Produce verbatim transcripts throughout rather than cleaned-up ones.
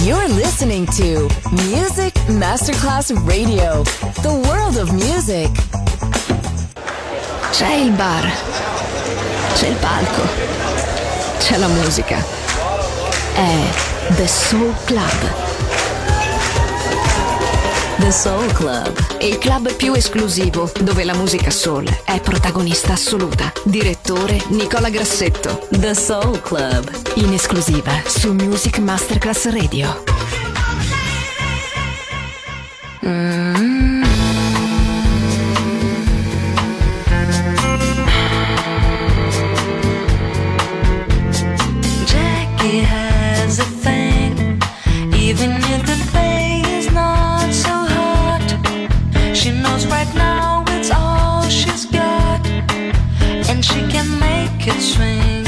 You're listening to Music Masterclass Radio, the world of music. C'è il bar, c'è il palco, c'è la musica. È The Soul Club. The Soul Club, il club più esclusivo dove la musica soul è protagonista assoluta. Direttore Nicola Grassetto. The Soul Club, in esclusiva su Music Masterclass Radio. Mm. Jackie has a thing, even if the pay is not so hot. She knows right now it's all she's got, and she can make it swing.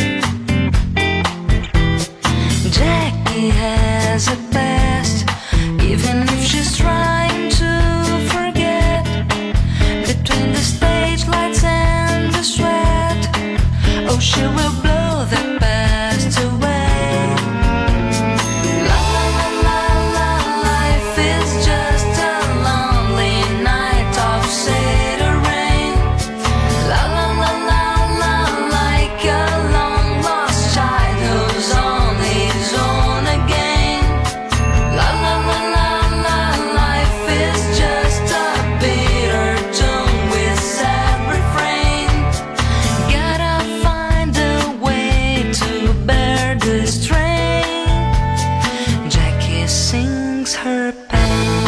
Jackie has a past, even if she's trying to forget. Between the stage lights and the sweat, oh, she will blow the past away. La la la la la, life is just a lonely night of cedar rain. La la la la la, like a long lost child who's on his own again. La la la la la, life is just a bitter tune with sad refrain. Gotta find a way to bear the strain. Jackie sings her pain.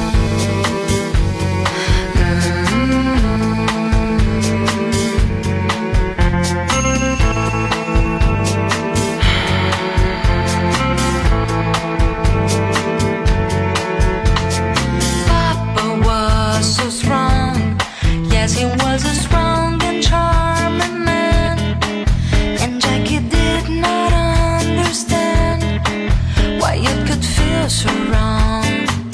Papa was so strong, yes, he was a strong and charming man, and Jackie did not understand why it could feel so wrong.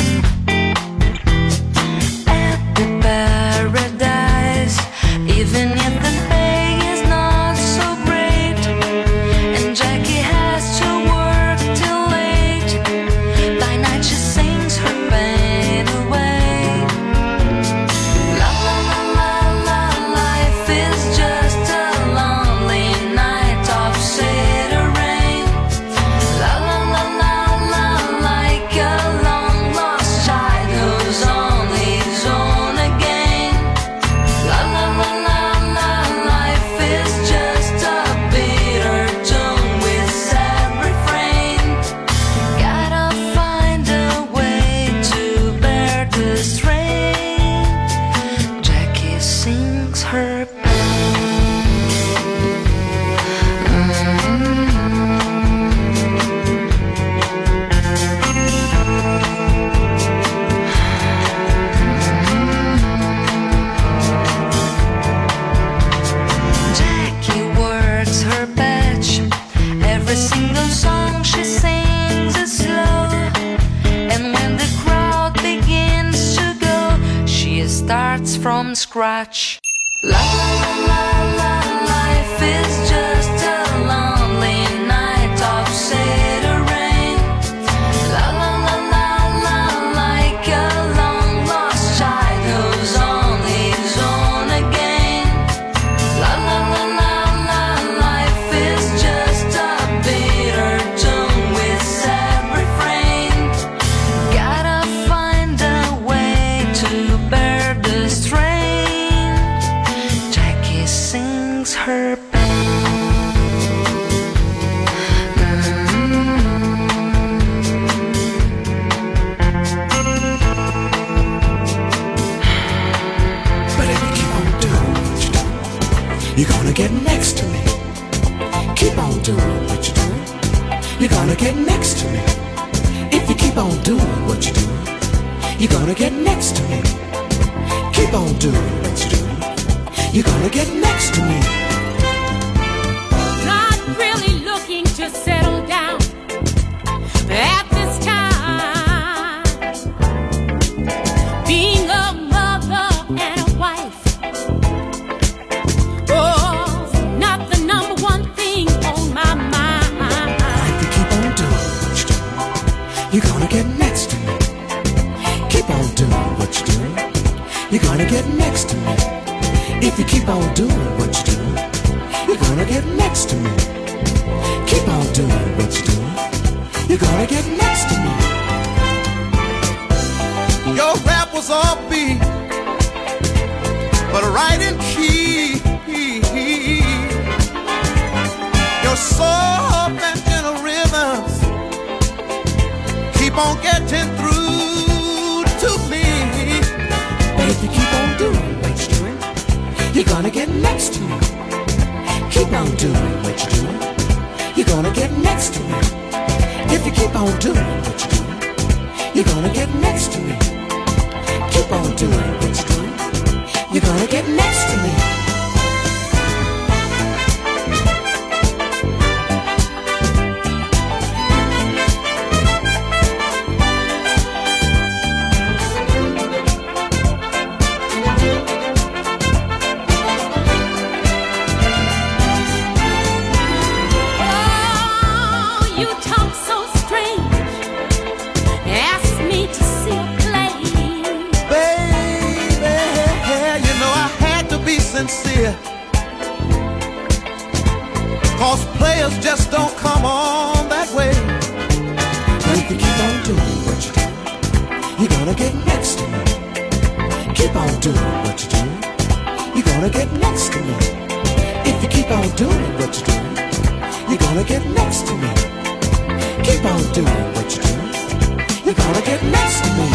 At the paradise, even if the pay is not so great, and Jackie has to work till late, by night she sings her pain away. La la la la la, life is just a lonely night of cedar rain. La la la la la, like a long lost child who's on his own again. La la la la la, life is just a bitter tune with sad refrain. Gotta find a way to bear the strain. Jackie sings her pain. Jackie works her patch. Every single song she sings is slow, and when the crowd begins to go, she starts from scratch. La la la la, life is just a lonely night of cedar rain. La la la la la, like a long lost child who's on his own again. La la la la la, life is just a bitter tune with sad refrain. Gotta find a way to bear the strain. Jackie sings her pain. But if you keep on doing what you're doing, you're gonna get next to me. Keep on doing what you're doing, you're gonna get next to me. If you keep on doing what you're doing, you're gonna get next to me. Keep on doing what you're doing, you're gonna get next to me. Not really looking to settle down at this time. Being a mother and a wife, oh, not the number one thing on my mind. If you keep on doing what you're doing, you're gonna get next to me. Keep on doing what you're doing, you're gonna get next to me. If you keep on doing what you're doing, you're gonna get next to me. Keep on doing what you're doing, you're gonna get next to me. Your rap was all beat, but right in key. Your soft and gentle rhythms keep on getting through to me. But if you keep on doing what you're doing, you're gonna get next to me. Keep on doing what you're doing, you're gonna get next to me. If you keep on doing what you're doing, you're gonna get next to me. Keep on doing what you're doing, you're gonna get next to me. Sincere, 'cause players just don't come on that way. But if you keep on doing what you're doing, you're gonna get next to me. Keep on doing what you're doing, you're gonna get next to me. If you keep on doing what you're doing, you're gonna get next to me. Keep on doing what you're doing, you're gonna get next to me.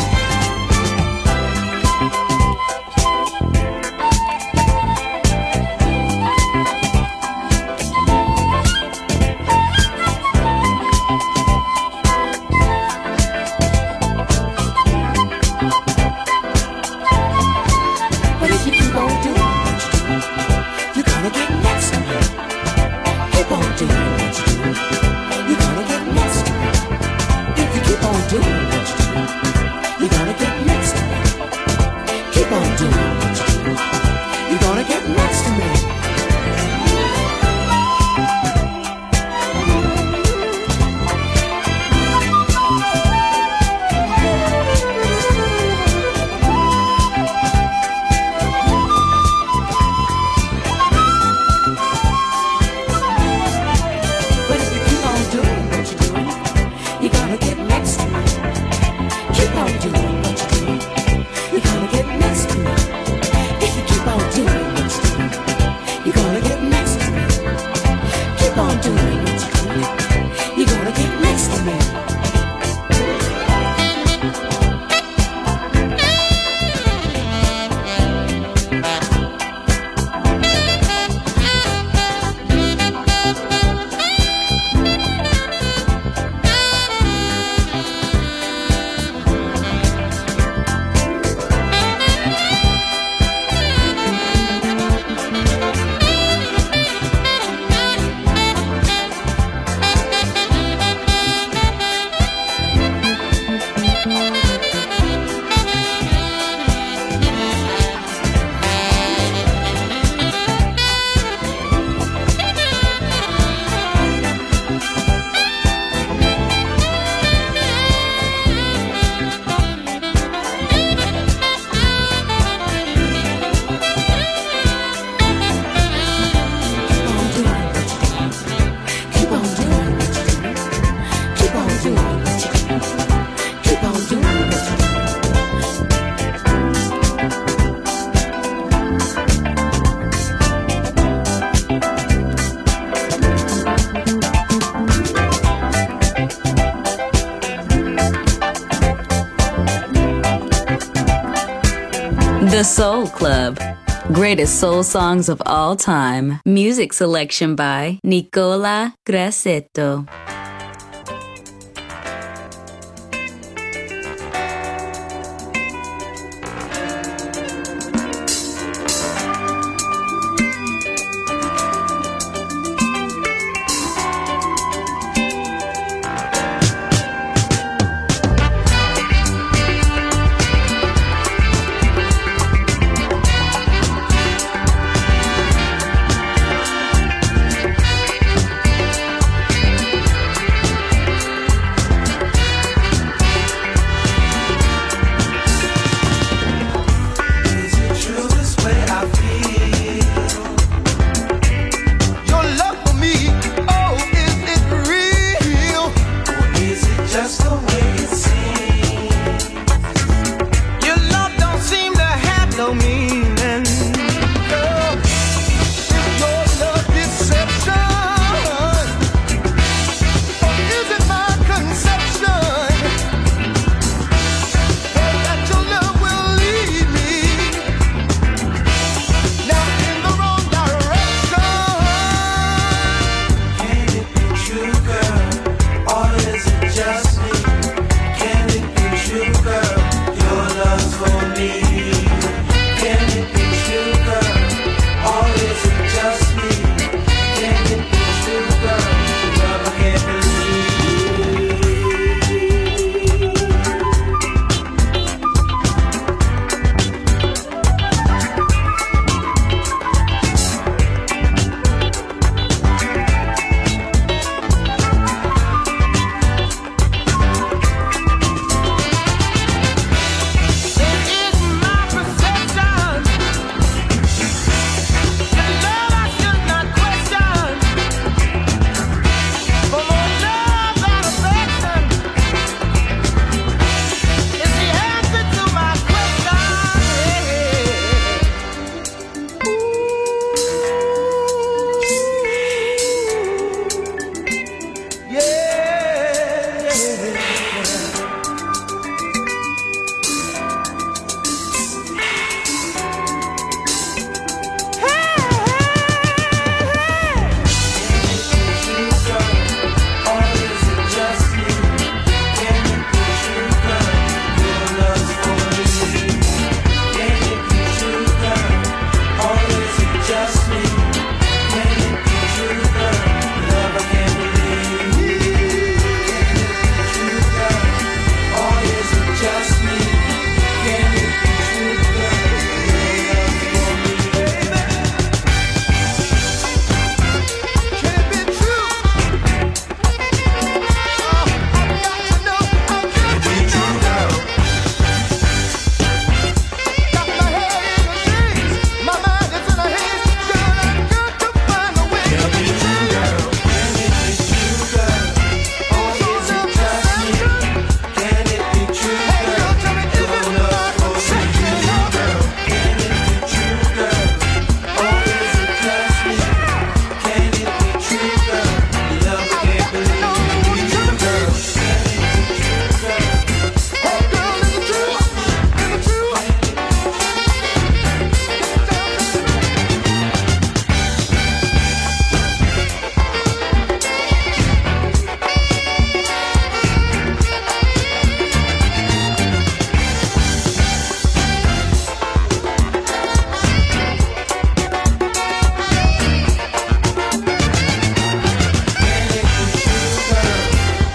The Soul Club. Greatest soul songs of all time. Music selection by Nicola Grassetto.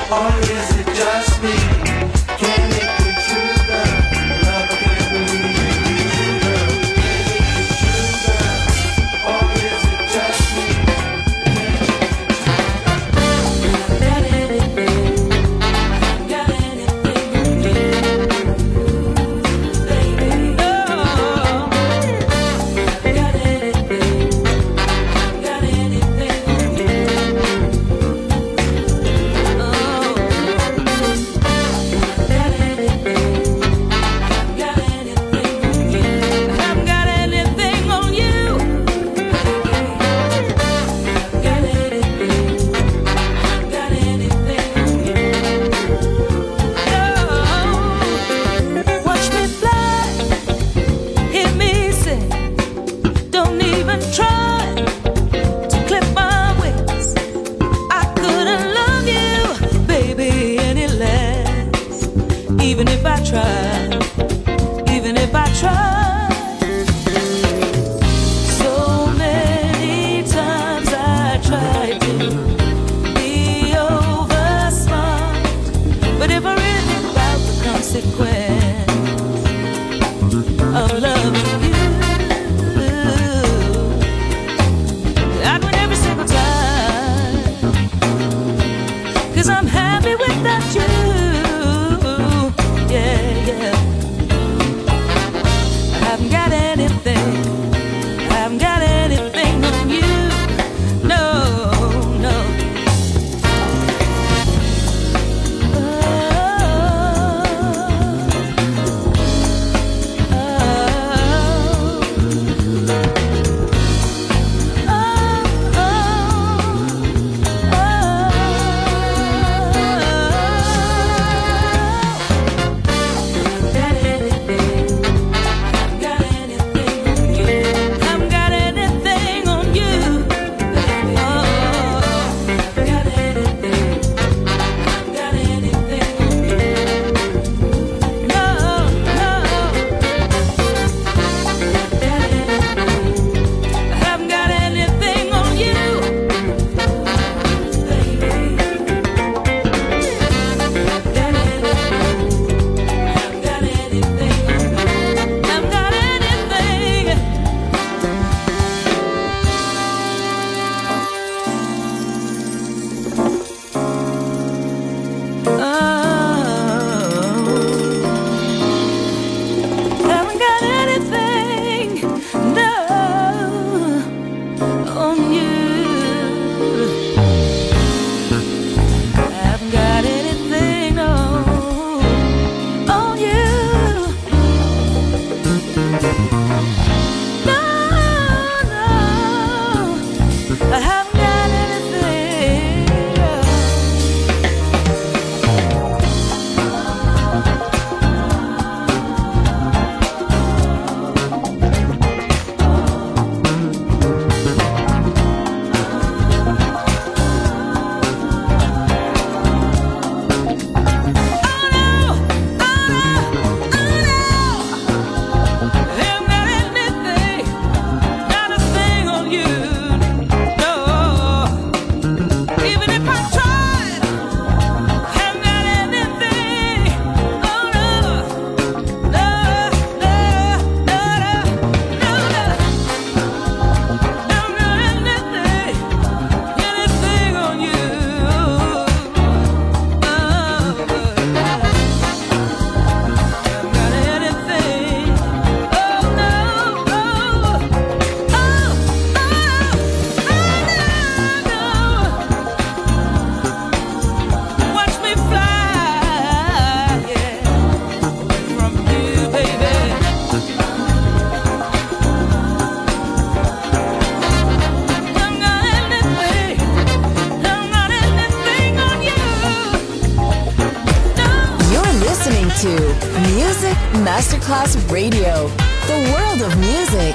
Masterclass Radio, the world of music.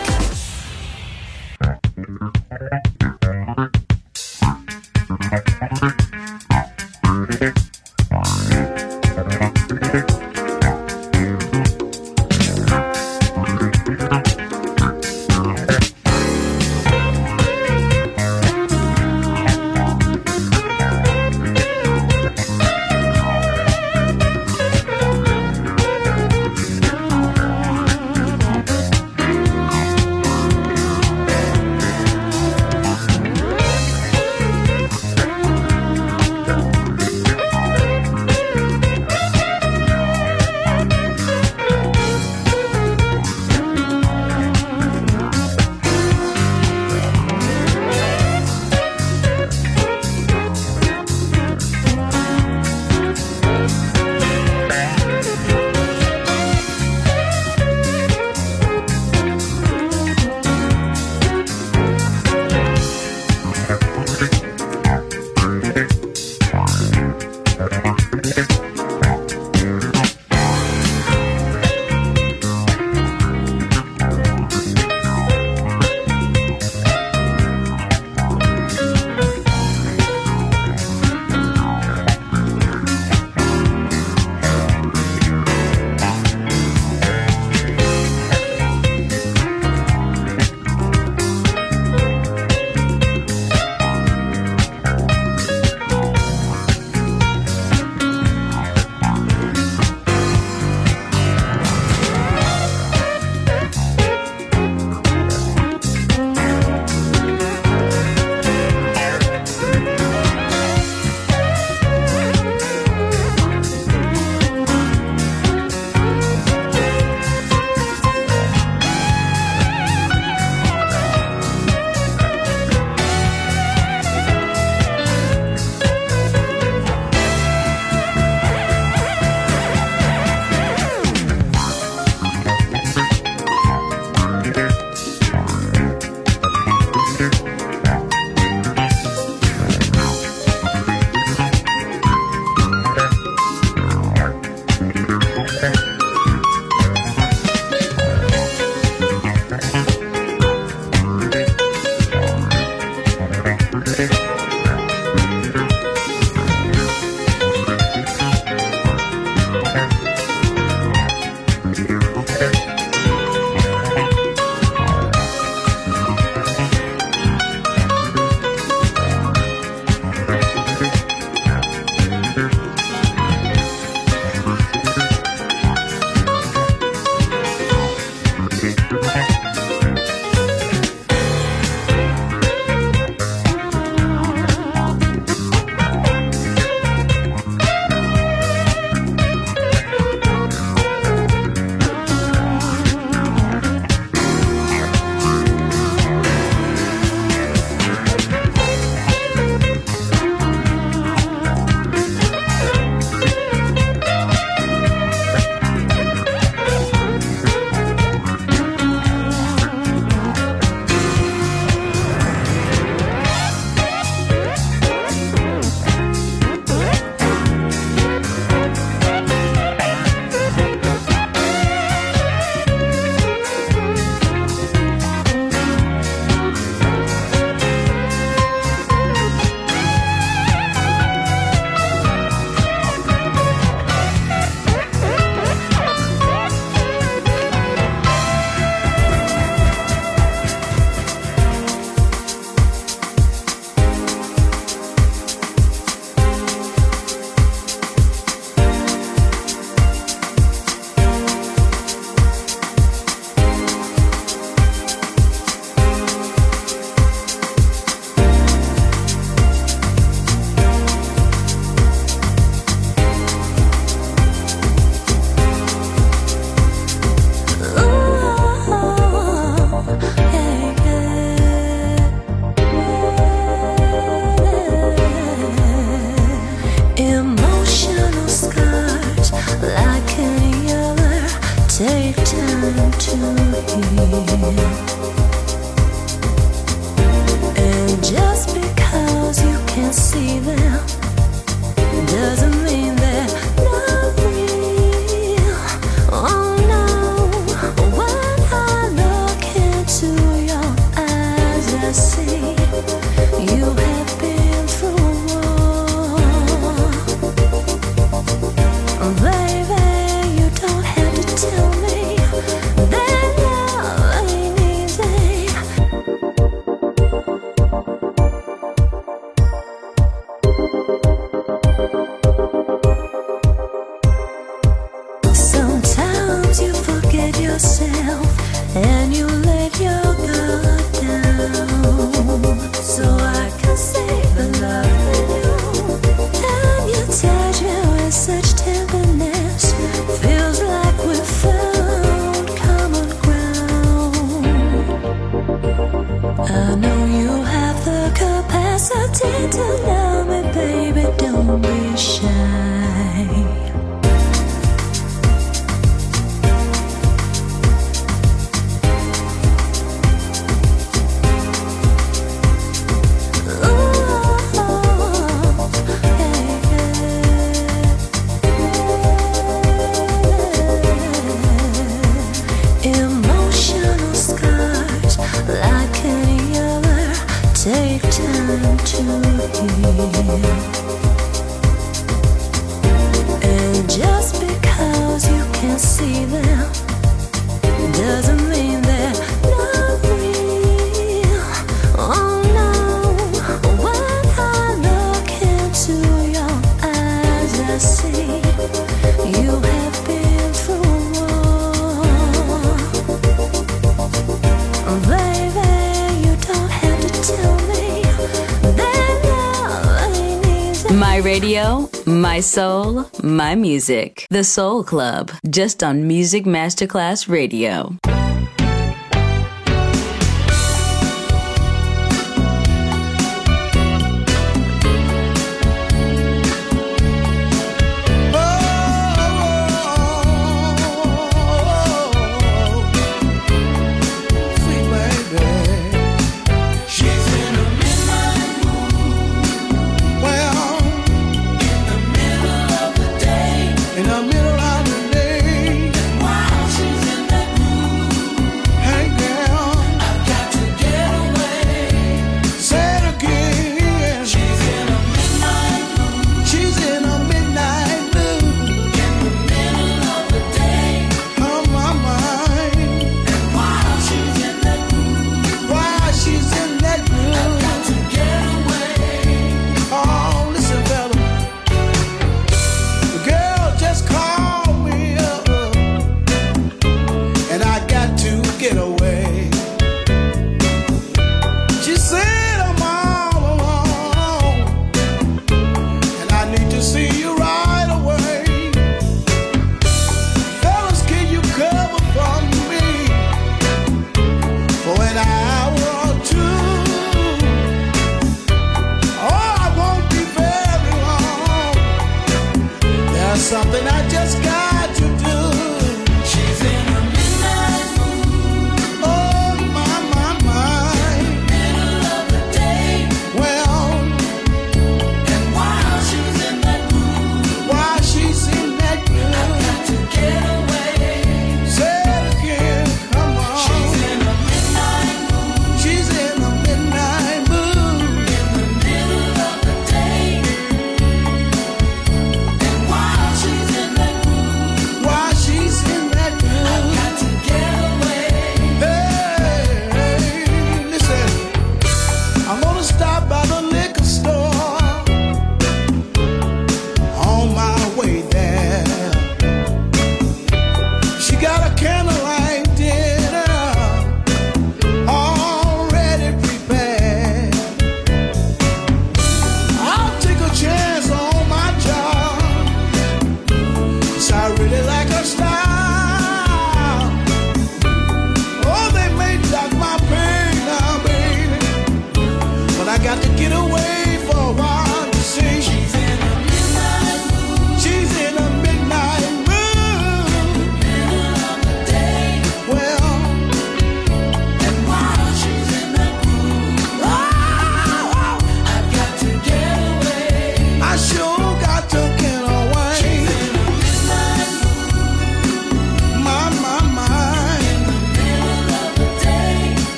radio, my soul, my music. The Soul Club, just on Music Masterclass Radio.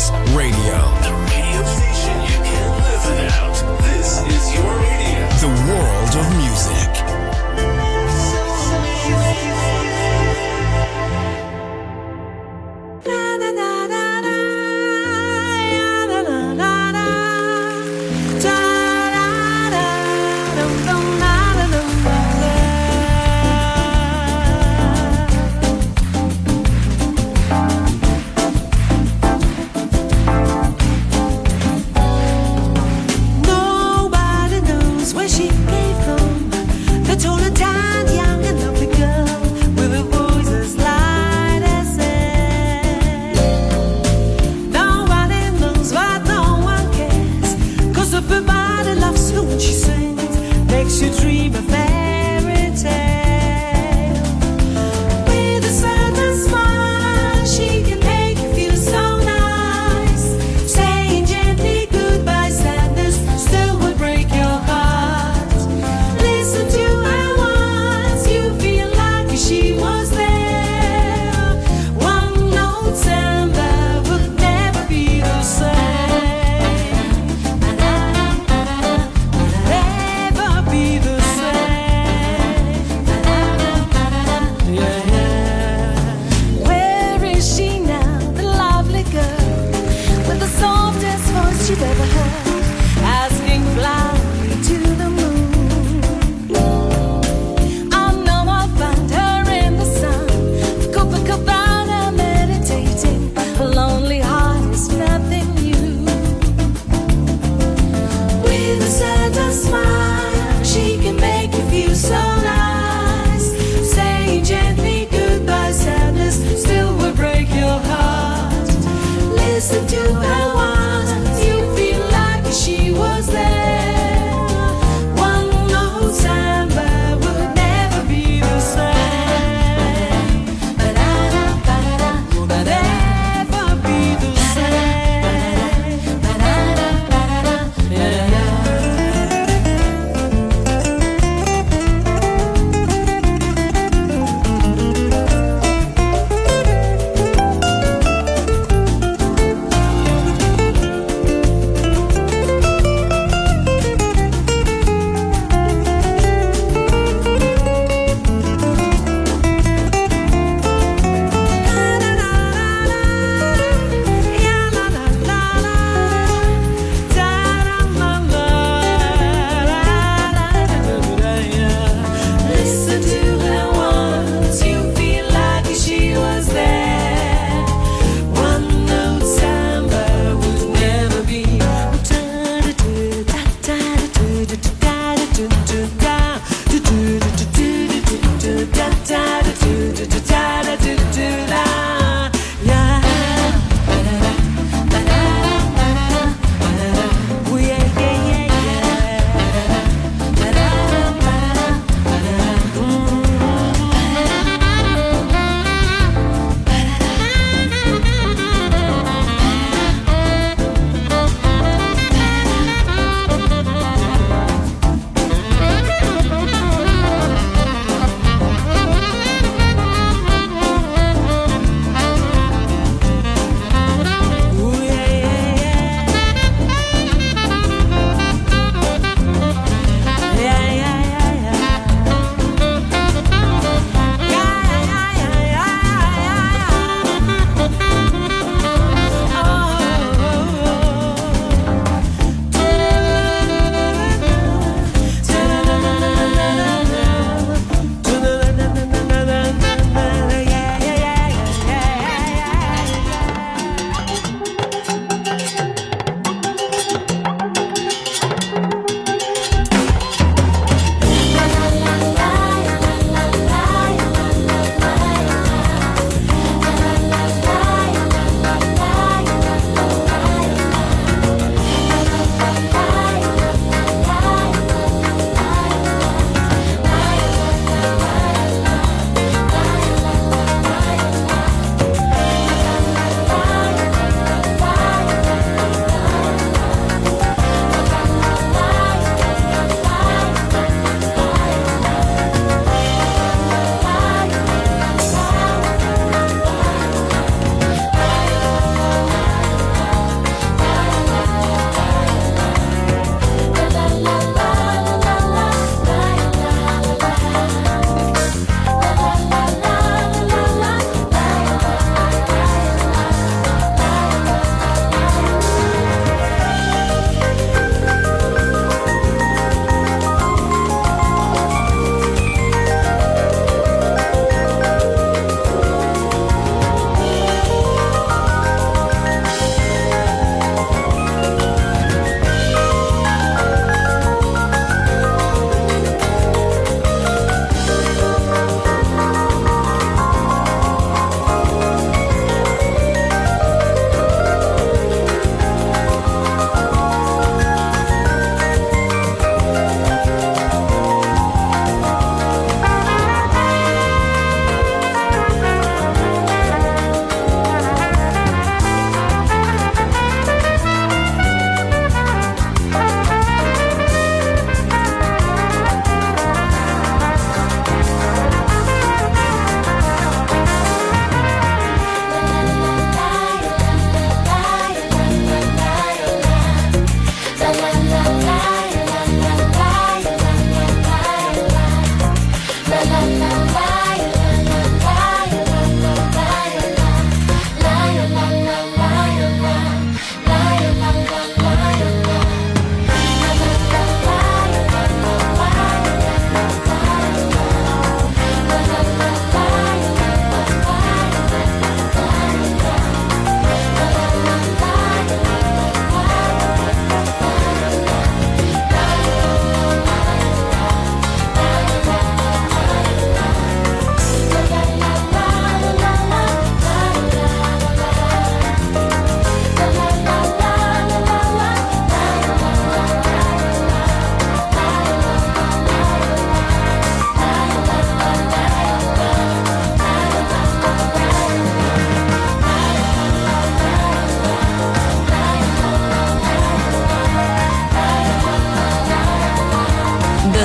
Masterclass Radio. The radio station you can't live without. This is your radio. The world of music.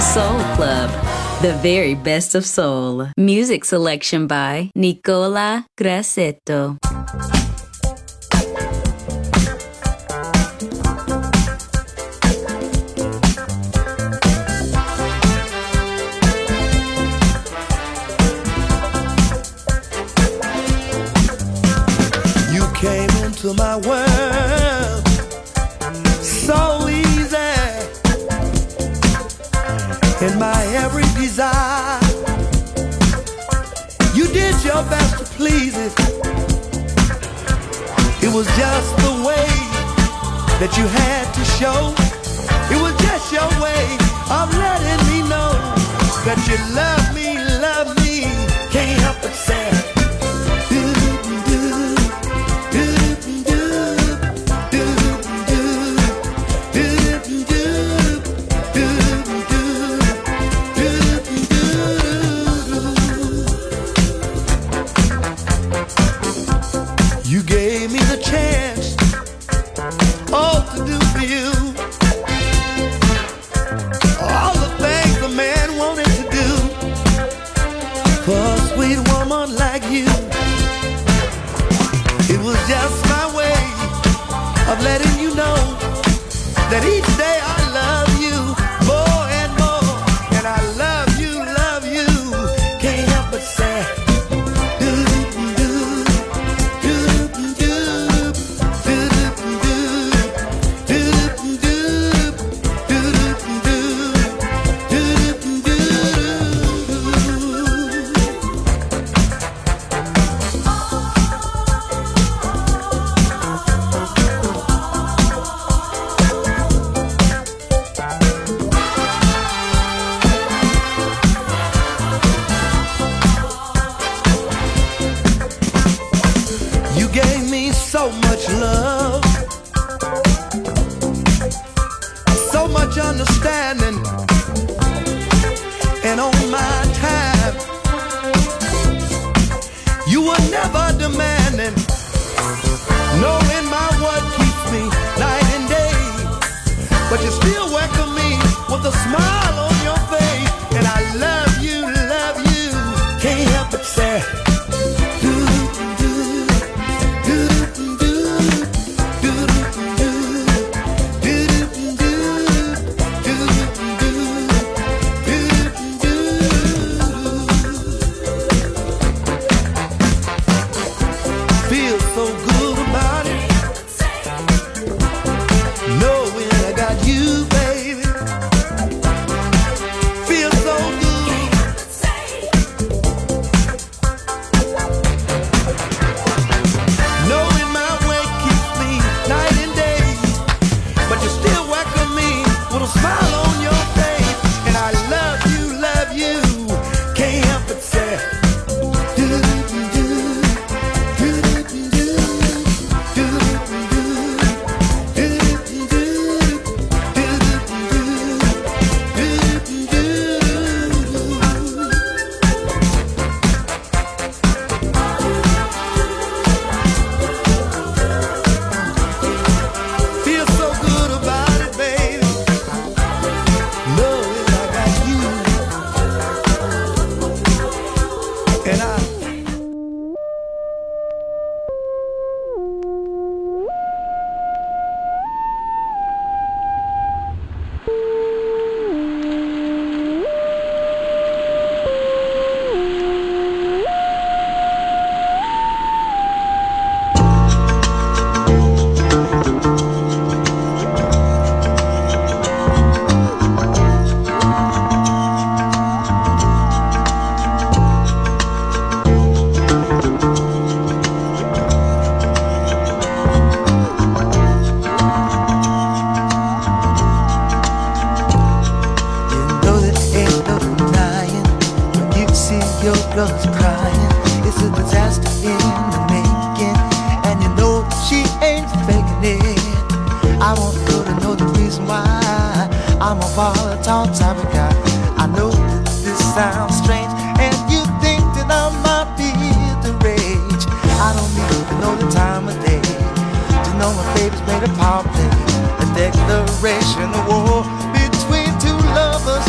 Soul Club, the very best of soul. Music selection by Nicola Grassetto. You came into my world so easy, in my every desire. You did your best to please it. It was just the way that you had to show. It was just your way of letting me know that you love me, love me. Can't help but say letting you know that each day I love you more and more, and I love you, love you, can't help but say understanding, and on my time you were never demanding, knowing my what keeps me night and day, but you still welcome me with a smile on your face, and I love you, love you, can't help but say made a power play, a declaration of war between two lovers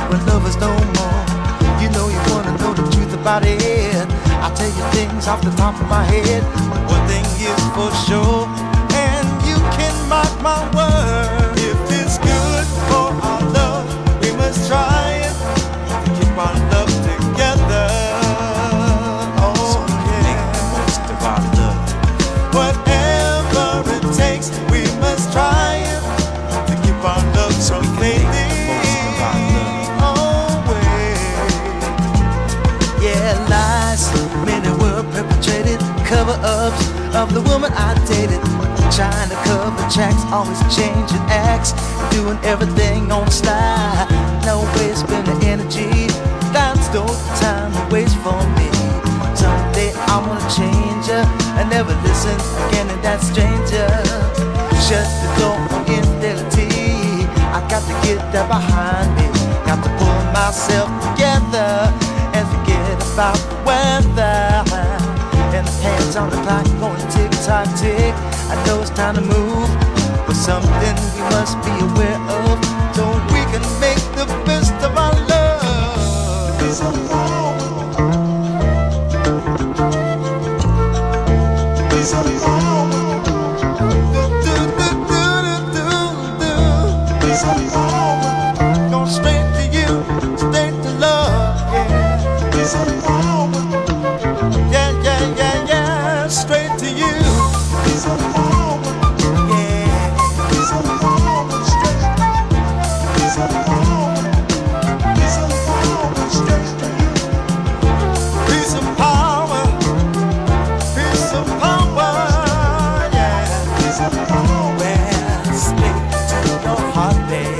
we're lovers no more. You know you wanna know the truth about it. I'll tell you things off the top of my head. One thing is for sure, and you can mark my word. If it's good for our love, we must try it to keep our love together. Oh, so we can make the most of our love. Whatever it takes, we must try it to keep our love so fading. Many were perpetrated, cover-ups of the woman I dated. Trying to cover tracks, always changing acts, doing everything on the slide. No way spending energy, that's no time to waste for me. Someday I wanna change her and never listen again to that stranger. Shut the door on infidelity, I got to get that behind me. Got to pull myself together and forget about the weather. And the hands on the clock going tick tock tick. I know it's time to move, but something we must be aware of, so we can make the best of our love. Peace of power. Peace of power. Do do do do do do. Peace of power. Go straight to you, straight to love. Yeah. Peace of power. Yeah yeah yeah yeah. Straight to you. Peace of power. Yeah. Peace of power. Straight. Peace of power. Peace of power. Straight to you. Peace of power. Peace of power. Yeah. Peace of power. Well, straight to your heart, babe.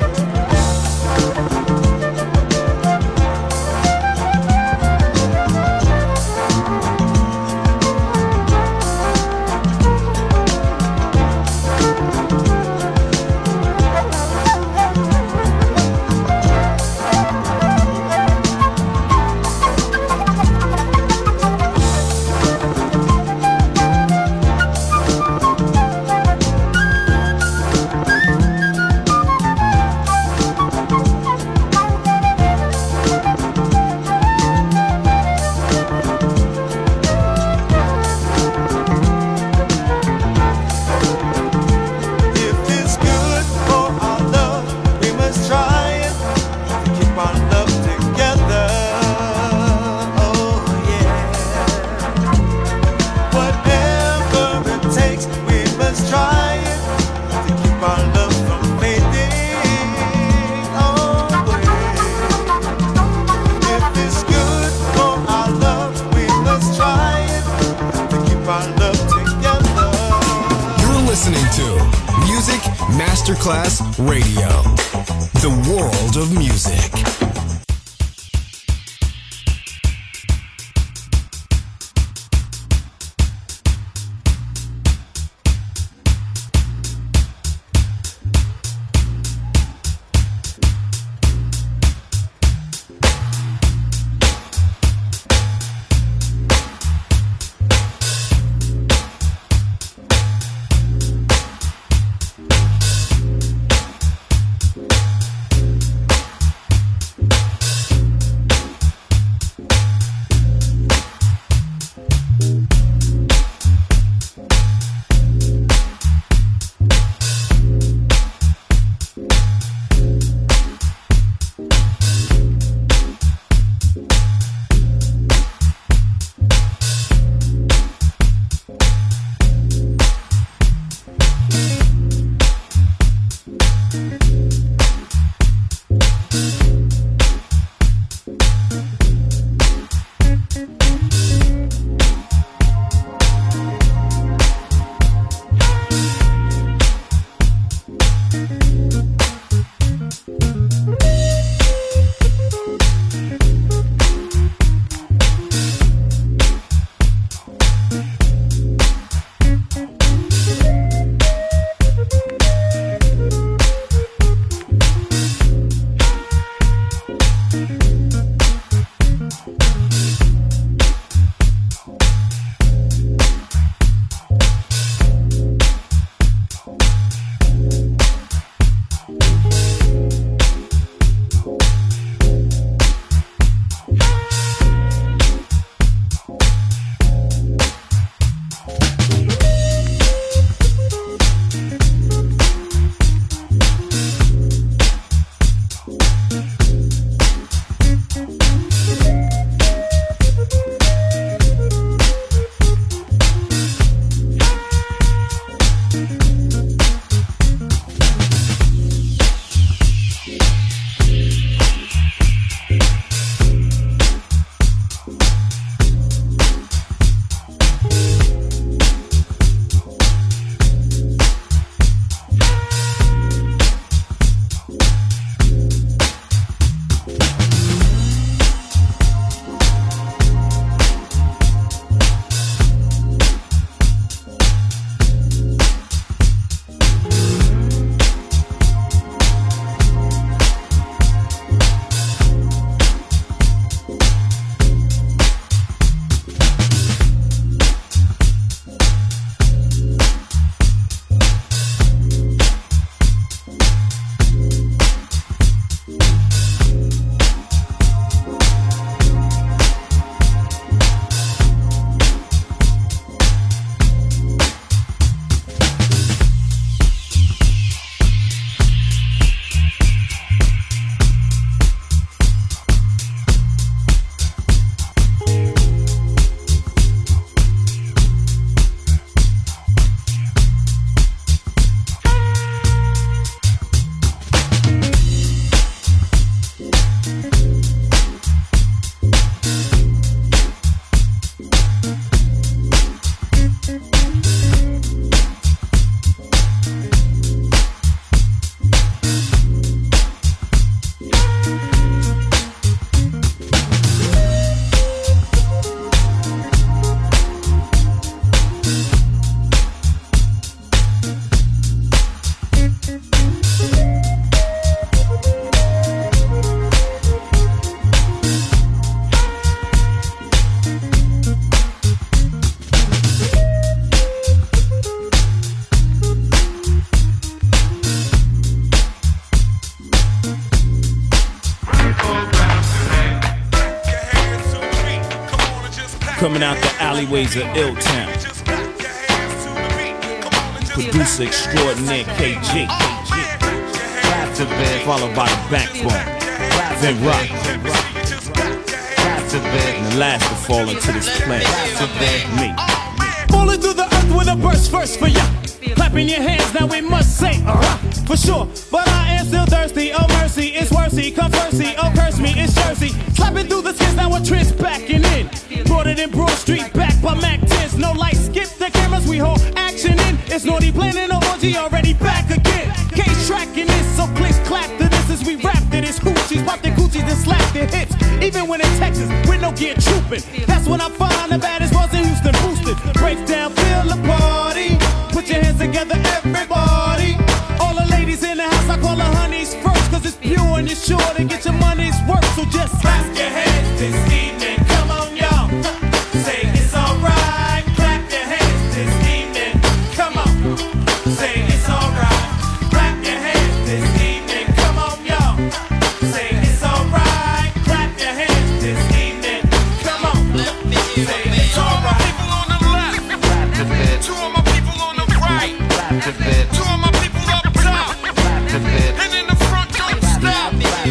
Masterclass Radio, the world of music. coming out the alleyways of Ill-Town. Producer extraordinaire K G. Followed by the Backbone. Then Rock. And the last to fall into this planet. Me. Falling through the earth with a burst first for ya. Clapping your hands, now we must say, uh-huh, for sure. But I am still thirsty, oh mercy, it's worthy. Come mercy, oh curse me, it's Jersey. Slapping through the skins, now a trench backing in. Brought it in Broad Street, back by Mac tens. No lights, skip the cameras, we hold action in. It's naughty planning an orgy, already back again. Case tracking this, so clicks clap to this as we rap to this. Hoochies, pop the coochies and slap the hits. Even when in Texas, with no gear trooping. That's when I find the baddest ones in Houston boosted. Break down, feel the party. Put your hands together, everybody. All the ladies in the house, I call the honeys first. Cause it's pure and you're sure to get your money's worth. So just clap your hands this evening. Come on, y'all. Say it's alright. Clap your hands this evening. Come on. Say it's alright. Clap your hands this evening. Come on, y'all. Say it's alright. Clap your hands this evening. Come on. Say it's alright. People on the left. Two of my people on the right. Two of my people up top. And in the front, don't stop.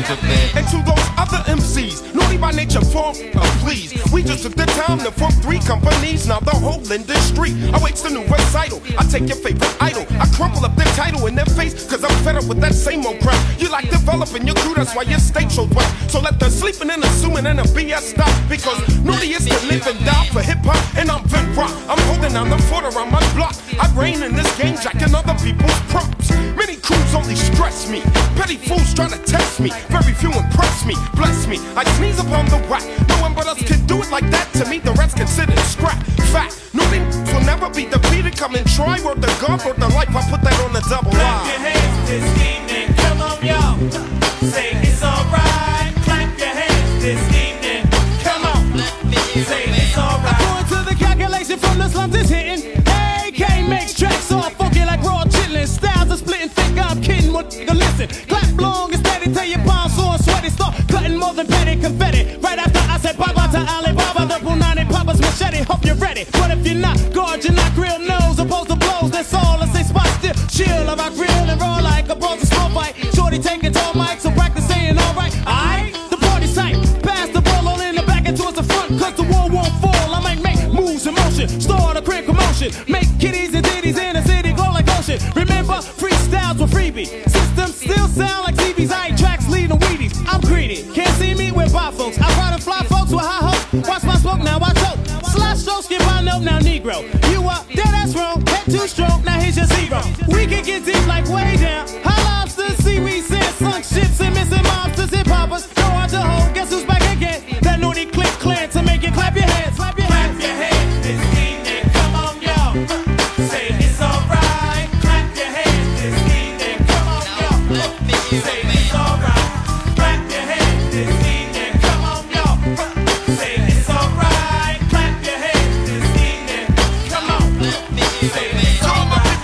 And to those other M Cs, naughty by nature, form, uh, please. We just took the time to form three companies. Now the whole industry awaits the new recital. I take your favorite idol, I crumple up their title in their face, cause I'm fed up with that same old crap. You like developing your crew, that's why your state so wet. So let the sleeping and assuming and the B S stop. Because naughty is to live and die for hip hop, and I'm Vin Rock. I'm holding down the fort around my block. I reign in this game, jacking other people's props. Many crews only stress me. Petty fools trying to test me. Very few impress me, bless me. I sneeze upon the whack. No one but us can do it like that. To me, the rest considered scrap. Fact, naughty will never be defeated. Come and try, worth the gun, worth the life. I put that on the double line. Clap your hands this evening. Come on, y'all. Say it's alright. Clap your hands this evening. Come on. Say it's alright. According to the calculation from the slums, it's hitting. A K makes tracks all funky like raw chitlin'. Styles are splitting thick, I'm kidding. What nigga listen? Clap long and steady till your palms sore and sweaty. Start cutting more than petty confetti. Right after I said bye bye to Alibaba, the Punani Papa's machete. Hope you're ready. But if you're not, guard your not grill nose. Opposed to blows, that's all. I say spot still. Chill, I rock real and roll like a ball to smoke fight. Shorty taking tall mics, so practice saying alright. Alright, the party's tight. Pass the ball all in the back and towards the front. Cause the wall won't fall. I might make moves in motion. Start a quick commotion. Make kitties and ditties in the city glow like ocean. Remember, freestyles were freebie. Systems still sound like C B's. I ain't tracks leading Wheaties. I'm greedy. Can't see me with by folks. I ride and fly folks with high hopes. Watch my smoke, now I choke. Slash stroke, skip my note, now Negro. You up, there that's wrong. Head too strong, now here's your zero. We can get deep like way down. High lobsters, seaweed, sand, sunk ships, and missing mobsters, hip hoppers. Throw out the hole, guess who's back again? That naughty click clan to make you clap your hands. Clap your hands. Clap your hands this evening. Come on, y'all. Say it's alright. Clap your hands this evening. Come on, y'all. Say it's alright. Clap your hands this evening. Come on, y'all. Say it's alright. Clap your hands this evening. Come on. Say it's alright.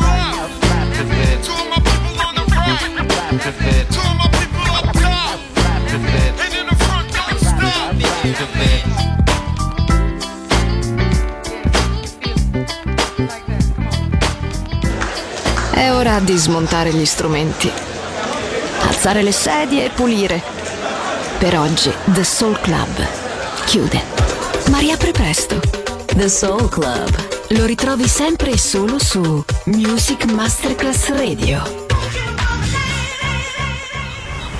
Two of my people on the right. Two of my people up top. And in the front, don't stop. È ora di smontare gli strumenti, alzare le sedie e pulire. Per oggi The Soul Club chiude, ma riapre presto. The Soul Club Lo ritrovi sempre e solo su Music Masterclass Radio.